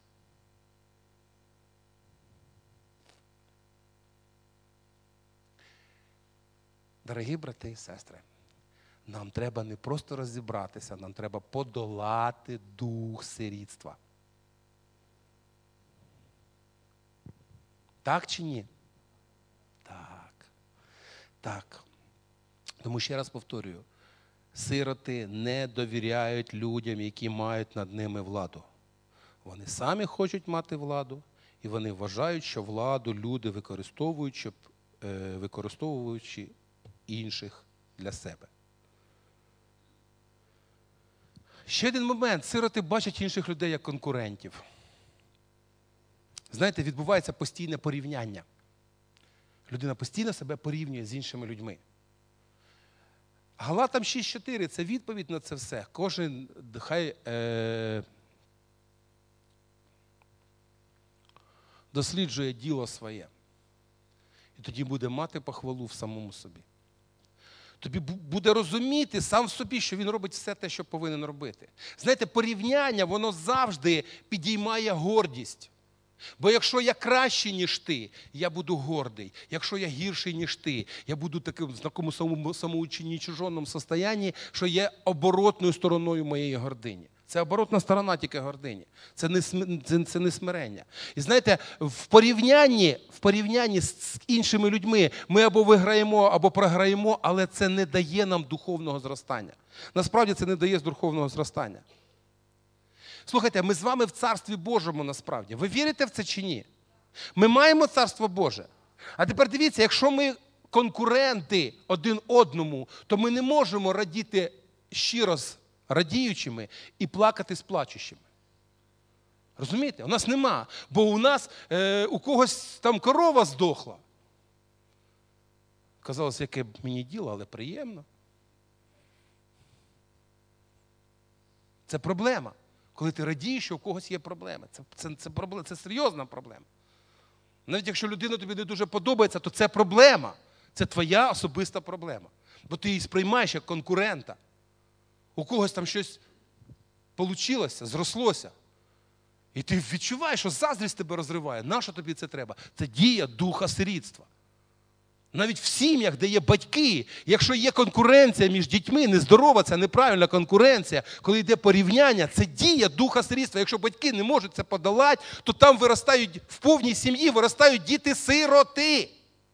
Дорогі брати і сестри, нам треба не просто розібратися, нам треба подолати дух сирітства. Так чи ні? Так. Так. Тому ще раз повторюю, сироти не довіряють людям, які мають над ними владу. Вони самі хочуть мати владу, і вони вважають, що владу люди використовують, щоб, е, використовуючи інших для себе. Ще один момент. Сироти бачать інших людей як конкурентів. Знаєте, відбувається постійне порівняння. Людина постійно себе порівнює з іншими людьми. Галатам шість чотири – це відповідь на це все. Кожен хай е, досліджує діло своє. І тоді буде мати похвалу в самому собі. Тобі буде розуміти сам в собі, що він робить все те, що повинен робити. Знаєте, порівняння, воно завжди підіймає гордість. Бо якщо я кращий, ніж ти, я буду гордий. Якщо я гірший, ніж ти, я буду таким в такому самоученічужонному стані, що є оборотною стороною моєї гордині. Це оборотна сторона тільки гордині. Це не, це, це не смирення. І знаєте, в порівнянні, в порівнянні з іншими людьми ми або виграємо, або програємо, але це не дає нам духовного зростання. Насправді це не дає духовного зростання. Слухайте, ми з вами в Царстві Божому насправді. Ви вірите в це чи ні? Ми маємо Царство Боже. А тепер дивіться, якщо ми конкуренти один одному, то ми не можемо радіти щиро з радіючими і плакати з плачущими. Розумієте? У нас нема. Бо у нас, е, у когось там корова здохла. Казалось, яке б мені діло, але приємно. Це проблема. Коли ти радієш, що у когось є проблеми. Це, це, це, проблема, це серйозна проблема. Навіть якщо людина тобі не дуже подобається, то це проблема. Це твоя особиста проблема. Бо ти її сприймаєш як конкурента. У когось там щось вийшло, зрослося. І ти відчуваєш, що заздрість тебе розриває. Нащо тобі це треба? Це дія духа сирітства. Навіть в сім'ях, де є батьки, якщо є конкуренція між дітьми, нездорова, це неправильна конкуренція, коли йде порівняння, це дія духа сирітства. Якщо батьки не можуть це подолати, то там виростають, в повній сім'ї виростають діти-сироти,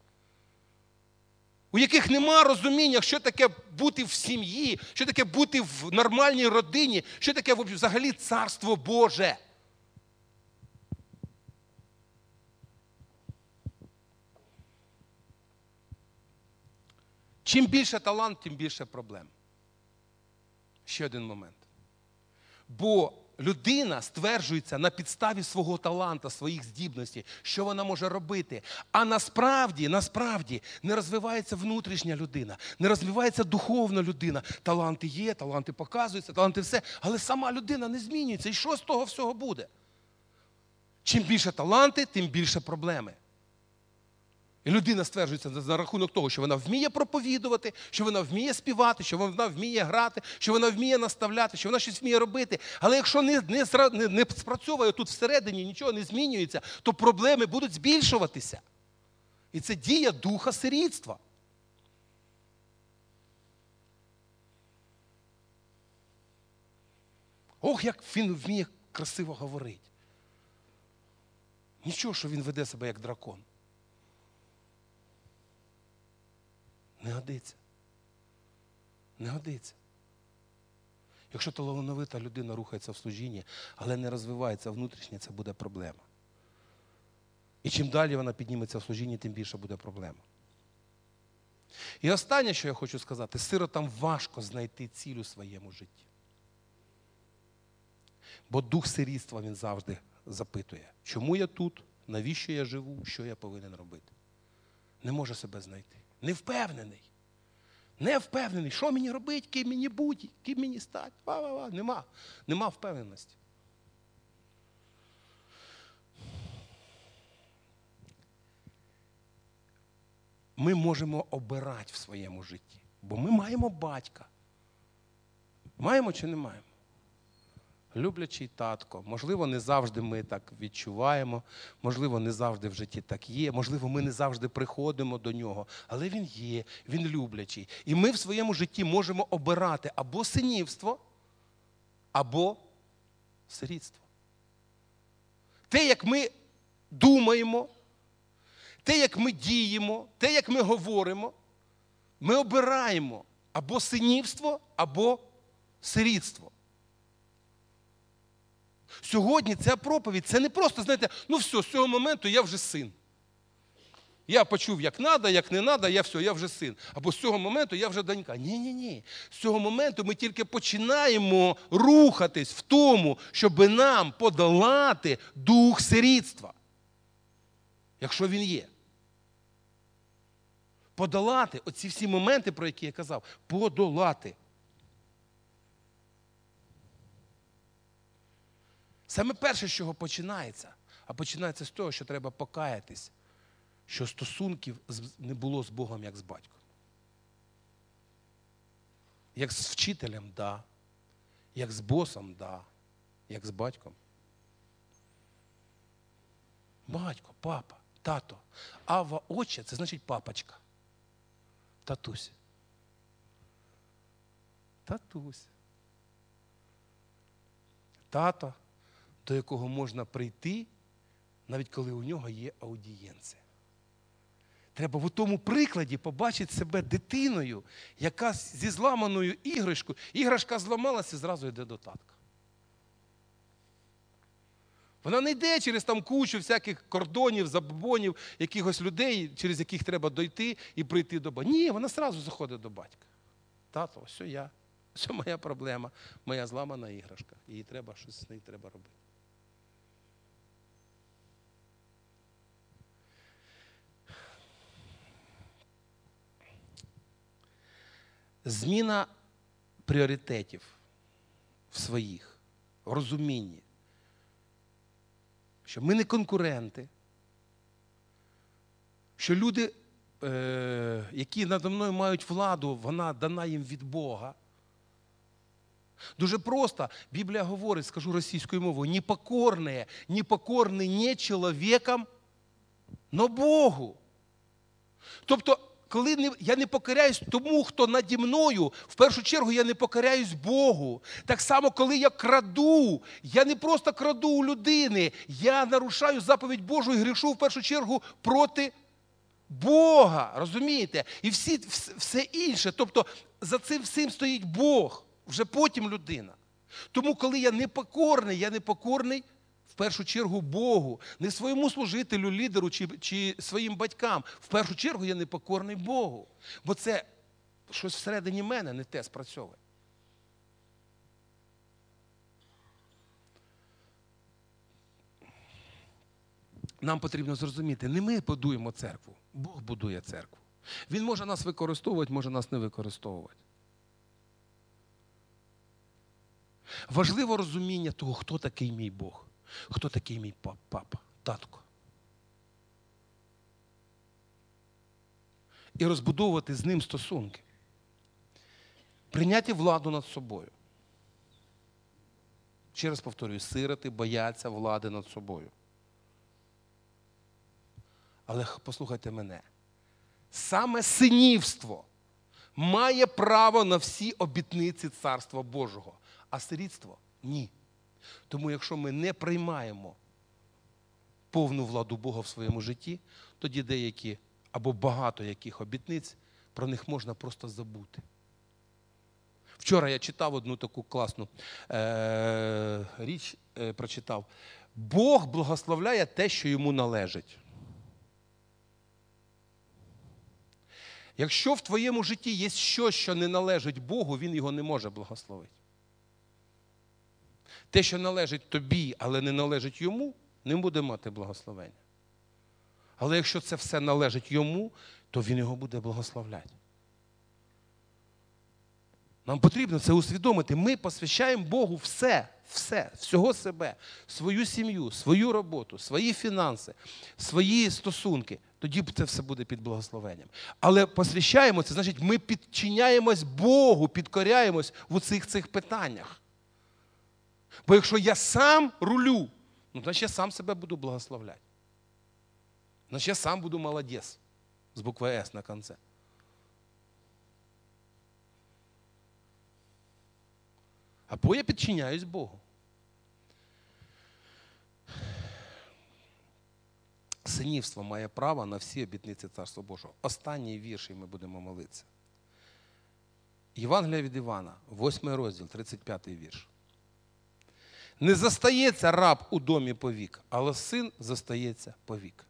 у яких нема розуміння, що таке бути в сім'ї, що таке бути в нормальній родині, що таке взагалі Царство Боже. Чим більше талант, тим більше проблем. Ще один момент. Бо людина стверджується на підставі свого таланта, своїх здібностей, що вона може робити. А насправді, насправді не розвивається внутрішня людина, не розвивається духовна людина. Таланти є, таланти показуються, таланти все, але сама людина не змінюється. І що з того всього буде? Чим більше таланти, тим більше проблеми. І людина стверджується на рахунок того, що вона вміє проповідувати, що вона вміє співати, що вона вміє грати, що вона вміє наставляти, що вона щось вміє робити. Але якщо не, не, не, не спрацьовує тут всередині, нічого не змінюється, то проблеми будуть збільшуватися. І це дія духа сирітства. Ох, як він вміє красиво говорити. Нічого, що він веде себе як дракон. Не годиться. Не годиться. Якщо талановита людина рухається в служінні, але не розвивається внутрішнє, це буде проблема. І чим далі вона підніметься в служінні, тим більше буде проблема. І останнє, що я хочу сказати, сиротам важко знайти ціль у своєму житті. Бо дух сирітства, він завжди запитує, чому я тут, навіщо я живу, що я повинен робити. Не може себе знайти. Не впевнений. Не впевнений, що мені робити, ким мені бути, ким мені стати. Ва-ва-ва. Нема. Нема впевненості. Ми можемо обирати в своєму житті, бо ми маємо батька. Маємо чи не маємо? Люблячий татко. Можливо, не завжди ми так відчуваємо, можливо, не завжди в житті так є, можливо, ми не завжди приходимо до нього, але він є, він люблячий. І ми в своєму житті можемо обирати або синівство, або сирітство. Те, як ми думаємо, те, як ми діємо, те, як ми говоримо, ми обираємо або синівство, або сирітство. Сьогодні ця проповідь, це не просто, знаєте, ну все, з цього моменту я вже син. Я почув, як треба, як не треба, я все, я вже син. Або з цього моменту я вже донька. Ні-ні-ні. З цього моменту ми тільки починаємо рухатись в тому, щоб нам подолати дух сирітства. Якщо він є. Подолати оці всі моменти, про які я казав. Подолати. Саме перше, з чого починається, а починається з того, що треба покаятись, що стосунків не було з Богом, як з батьком. Як з вчителем – да, як з босом – да, як з батьком. Батько, папа, тато. Ава, отче – це значить папочка. Татусь. Татусь. Тато, до якого можна прийти, навіть коли у нього є аудієнція. Треба в тому прикладі побачити себе дитиною, яка зі зламаною іграшкою, іграшка зламалася і зразу йде до татка. Вона не йде через там кучу всяких кордонів, забобонів, якихось людей, через яких треба дойти і прийти до батька. Ні, вона одразу заходить до батька. Тато, ось я, ось моя проблема, моя зламана іграшка. Її треба, щось з нею треба робити. Зміна пріоритетів в своїх, в розумінні, що ми не конкуренти, що люди, е, які надо мною мають владу, вона дана їм від Бога. Дуже просто, Біблія говорить, скажу російською мовою, непокорне, непокорне не чоловіком, но Богу. Тобто, коли не, я не покоряюсь тому, хто наді мною, в першу чергу я не покоряюсь Богу. Так само, коли я краду, я не просто краду у людини, я нарушаю заповідь Божу і грішу в першу чергу проти Бога. Розумієте? І всі, все інше, тобто за цим всім стоїть Бог, вже потім людина. Тому, коли я непокорний, я непокорний в першу чергу Богу, не своєму служителю, лідеру чи, чи своїм батькам. В першу чергу я непокорний Богу. Бо це щось всередині мене не те спрацьовує. Нам потрібно зрозуміти, не ми будуємо церкву, Бог будує церкву. Він може нас використовувати, може нас не використовувати. Важливо розуміння того, хто такий мій Бог. Хто такий мій папа, татко. І розбудовувати з ним стосунки. Прийняти владу над собою. Ще раз повторюю, сироти бояться влади над собою. Але послухайте мене. Саме синівство має право на всі обітниці Царства Божого, а сирітство – ні. Тому якщо ми не приймаємо повну владу Бога в своєму житті, тоді деякі або багато яких обітниць, про них можна просто забути. Вчора я читав одну таку класну е- річ, е- прочитав. Бог благословляє те, що йому належить. Якщо в твоєму житті є щось, що не належить Богу, він його не може благословити. Те, що належить тобі, але не належить йому, не буде мати благословення. Але якщо це все належить йому, то він його буде благословляти. Нам потрібно це усвідомити. Ми посвящаємо Богу все, все, всього себе, свою сім'ю, свою роботу, свої фінанси, свої стосунки. Тоді це все буде під благословенням. Але посвящаємо, це значить, ми підчиняємось Богу, підкоряємось в оцих цих питаннях. Бо якщо я сам рулю, ну, значить я сам себе буду благословляти. Значить я сам буду молодець з букви С на кінці. Або я підчиняюсь Богу. Синівство має право на всі обітниці Царства Божого. Останній вірш, і ми будемо молитися. Євангелія від Івана, восьмий розділ, тридцять п'ятий вірш. Не застається раб у домі повік, але син застається повік.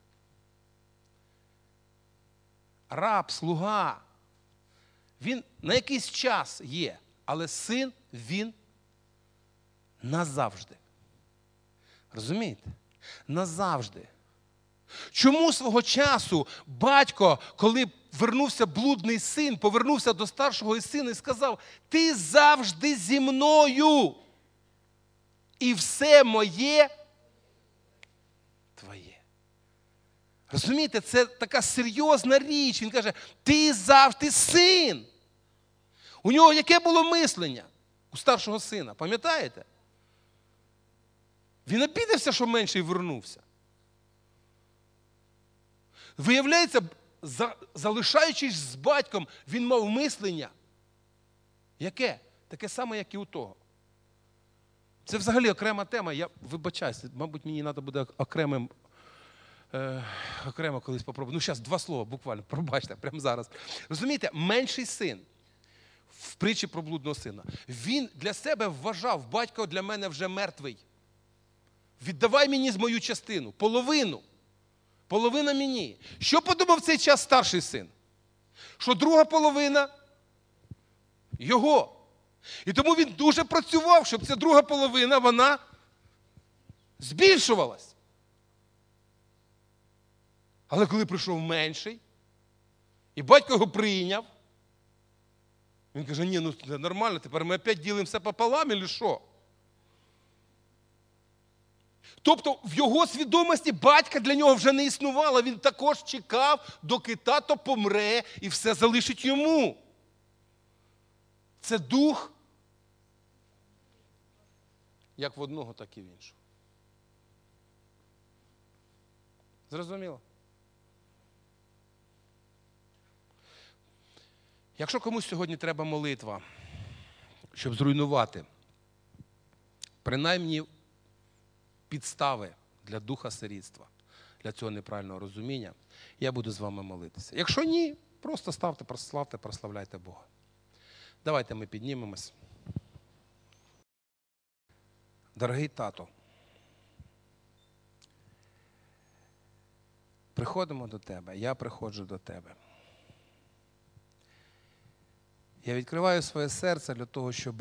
Раб, слуга, він на якийсь час є, але син, він назавжди. Розумієте? Назавжди. Чому свого часу батько, коли вернувся блудний син, повернувся до старшого сина і сказав: ти завжди зі мною, і все моє твоє. Розумієте, це така серйозна річ. Він каже: ти завжди син. У нього яке було мислення? У старшого сина, пам'ятаєте? Він обідався, що менший вернувся. Виявляється, залишаючись з батьком, він мав мислення. Яке? Таке саме, як і у того. Це взагалі окрема тема. Я вибачаюся, мабуть, мені треба буде окремим, е, окремо колись попробувати. Ну, зараз два слова буквально, пробачте, прямо зараз. Розумієте, менший син в притчі про блудного сина, він для себе вважав: батько для мене вже мертвий. Віддавай мені мою частину, половину. Половина мені. Що подумав в цей час старший син? Що друга половина його. І тому він дуже працював, щоб ця друга половина, вона збільшувалась. Але коли прийшов менший, і батько його прийняв, він каже: ні, ну це нормально, тепер ми опять ділимося пополам, або що? Тобто в його свідомості батька для нього вже не існувало. Він також чекав, доки тато помре і все залишить йому. Це дух як в одного, так і в іншого. Зрозуміло? Якщо комусь сьогодні треба молитва, щоб зруйнувати, принаймні підстави для духа сирітства, для цього неправильного розуміння, я буду з вами молитися. Якщо ні, просто ставте, прославте, прославляйте Бога. Давайте ми піднімемось. Дорогий тато, приходимо до тебе, я приходжу до тебе. Я відкриваю своє серце для того, щоб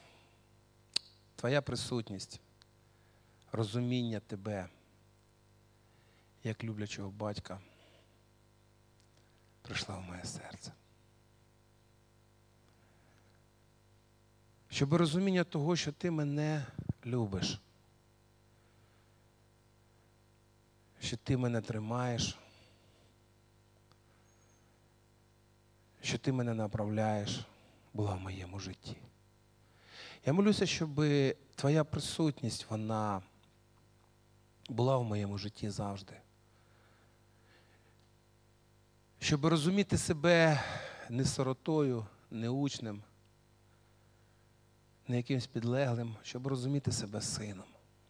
твоя присутність, розуміння тебе, як люблячого батька, прийшла в моє серце. Щоб розуміння того, що ти мене любиш, що ти мене тримаєш, що ти мене направляєш, була в моєму житті. Я молюся, щоб твоя присутність, вона була в моєму житті завжди. Щоб розуміти себе не сиротою, не учнем, не якимсь підлеглим, щоб розуміти себе сином.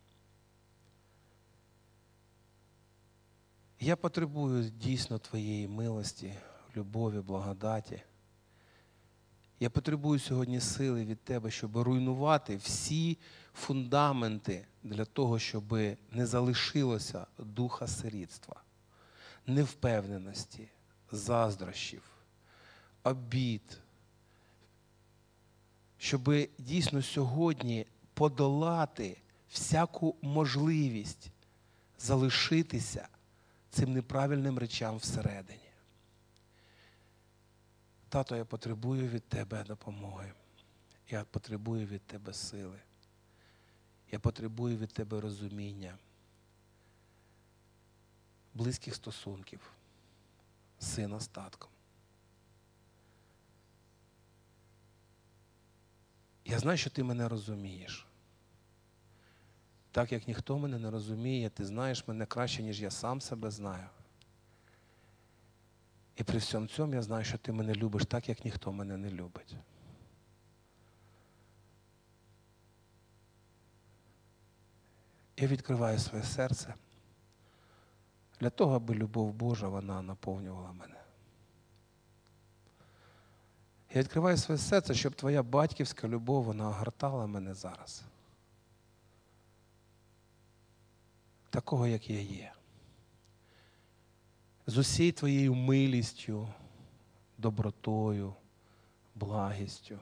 Я потребую дійсно Твоєї милості, любові, благодаті. Я потребую сьогодні сили від Тебе, щоб руйнувати всі фундаменти для того, щоб не залишилося духа сирітства, невпевненості, заздрощів, обід. Щоб дійсно сьогодні подолати всяку можливість залишитися цим неправильним речам всередині. Тато, я потребую від Тебе допомоги. Я потребую від Тебе сили. Я потребую від Тебе розуміння, близьких стосунків з сина з татком. Я знаю, що Ти мене розумієш. Так, як ніхто мене не розуміє, Ти знаєш мене краще, ніж я сам себе знаю. І при всьому цьому я знаю, що Ти мене любиш так, як ніхто мене не любить. Я відкриваю своє серце для того, аби любов Божа, вона наповнювала мене. Я відкриваю своє серце, щоб Твоя батьківська любов, вона огортала мене зараз. Такого, як я є. З усією Твоєю милістю, добротою, благістю.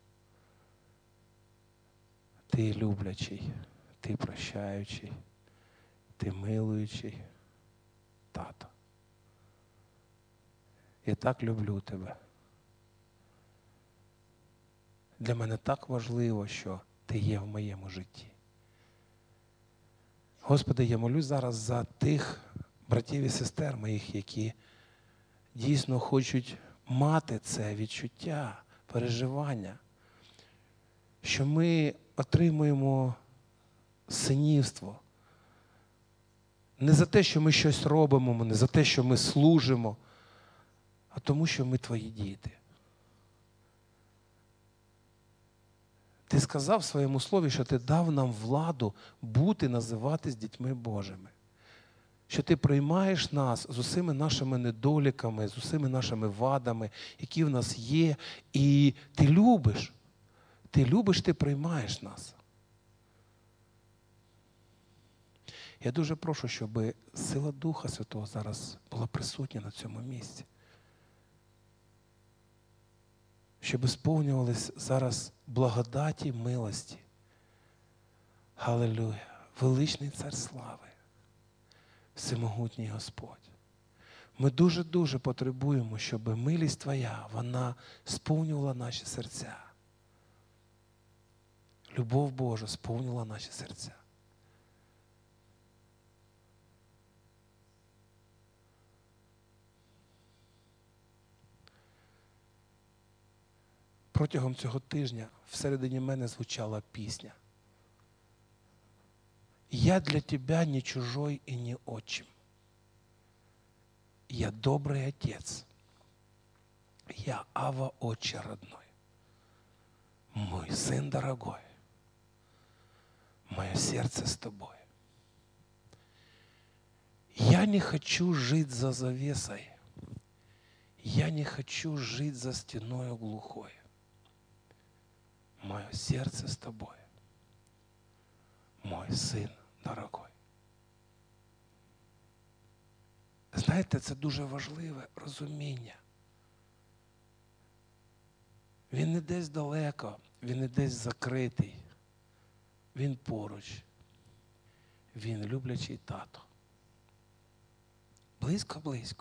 Ти люблячий, Ти прощаючий, Ти милуючий, Тато. Я так люблю Тебе. Для мене так важливо, що Ти є в моєму житті. Господи, я молюсь зараз за тих братів і сестер моїх, які дійсно хочуть мати це відчуття, переживання, що ми отримуємо синівство. Не за те, що ми щось робимо, не за те, що ми служимо, а тому, що ми Твої діти. Ти сказав в своєму слові, що Ти дав нам владу бути, називатись дітьми Божими. Що Ти приймаєш нас з усіми нашими недоліками, з усіми нашими вадами, які в нас є. І Ти любиш. Ти любиш, Ти приймаєш нас. Я дуже прошу, щоб сила Духа Святого зараз була присутня на цьому місці. Щоб сповнювались зараз благодаті, милості. Галилуя! Величний Цар слави, всемогутній Господь. Ми дуже-дуже потребуємо, щоб милість Твоя, вона сповнювала наші серця. Любов Божа сповнювала наші серця. Протягом цього тижня всередині мене звучала пісня. «Я для тебя не чужой и не отчим. Я добрый отец. Я Ава, отче родной. Мой сын дорогой. Мое сердце с тобой. Я не хочу жить за завесой. Я не хочу жить за стеною глухой. Мое сердце с тобой. Мой син дорогой». Знаєте, це дуже важливе розуміння. Він не десь далеко, він не десь закритий. Він поруч. Він люблячий тато. Близько-близько.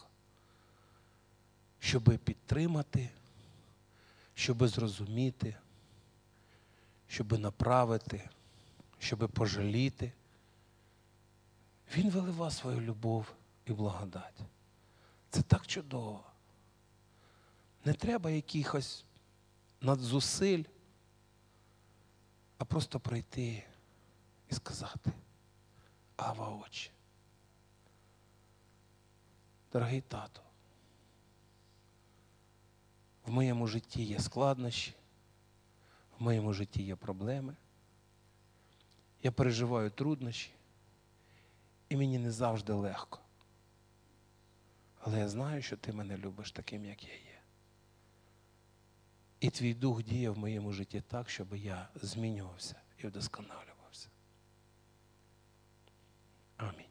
Щоби підтримати, щоби зрозуміти, щоби направити, щоби пожаліти. Він вилива свою любов і благодать. Це так чудово. Не треба якихось надзусиль, а просто прийти і сказати: «Ава, отче, дорогий тато, в моєму житті є складнощі, В моєму житті є проблеми. Я переживаю труднощі. І мені не завжди легко. Але я знаю, що ти мене любиш таким, як я є. І твій дух діє в моєму житті так, щоб я змінювався і вдосконалювався. Амінь.